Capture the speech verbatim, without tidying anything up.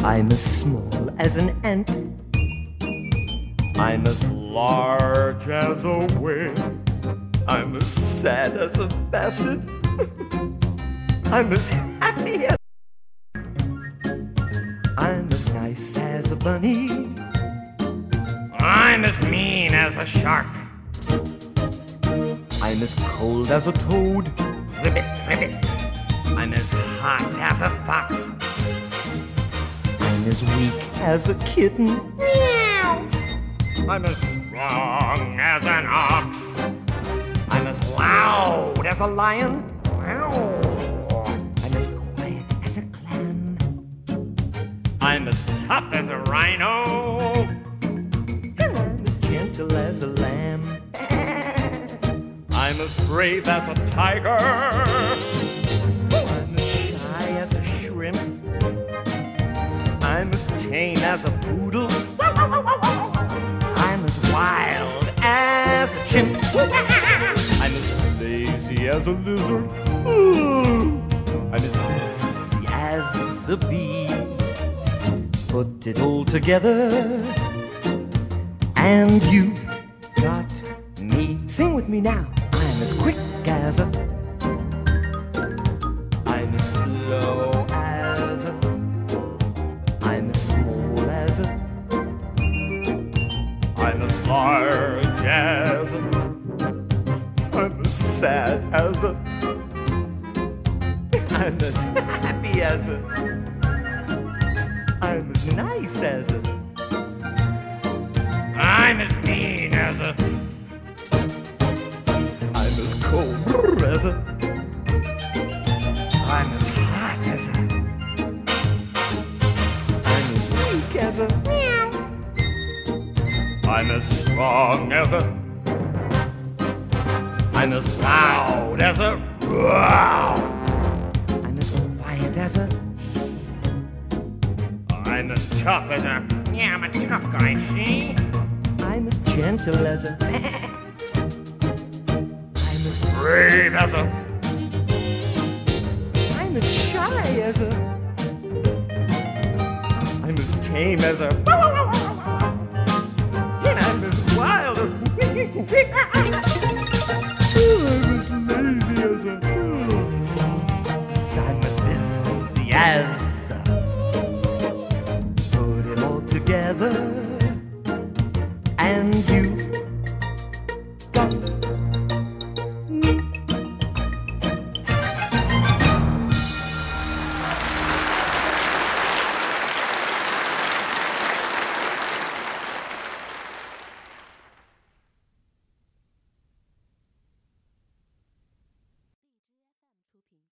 I'm as small as an ant. I'm as large as a whale. I'm as sad as a basset. I'm as happy as... I'm as nice as a bunny. I'm as mean as a shark. I'm as cold as a toad. Ribbit, ribbit. I'm as hot as a fox. I'm as weak as a kitten. Meow. I'm as strong as an ox. I'm as loud as a lion. Meow. I'm as quiet as a clam. I'm as tough as a rhino. And I'm as gentle as a lamb. I'm as brave as a tiger. I'm as shy as a shrimp. I'm as tame as a poodle. I'm as wild as a chimp. I'm as lazy as a lizard. I'm as busy as a bee. Put it all together and you've got me. Sing with me now. I'm as quick as a... I'm as slow as a... I'm as small as a... I'm as large as a... I'm as sad as a... I'm as happy as a... I'm as nice as a... I'm as mean as a... I'm as cold as a... I'm as hot as a... I'm as weak as a... Meow. I'm as strong as a... I'm as loud as a... Wow. I'm as quiet as a... I'm as tough as a... Yeah, I'm a tough guy, see? I'm as gentle as a... I'm as... Brave as a... I'm as shy as a... I'm as tame as a... And I'm as wild as... I'm as lazy as a... I'm as busy as a... Put it all together and you've got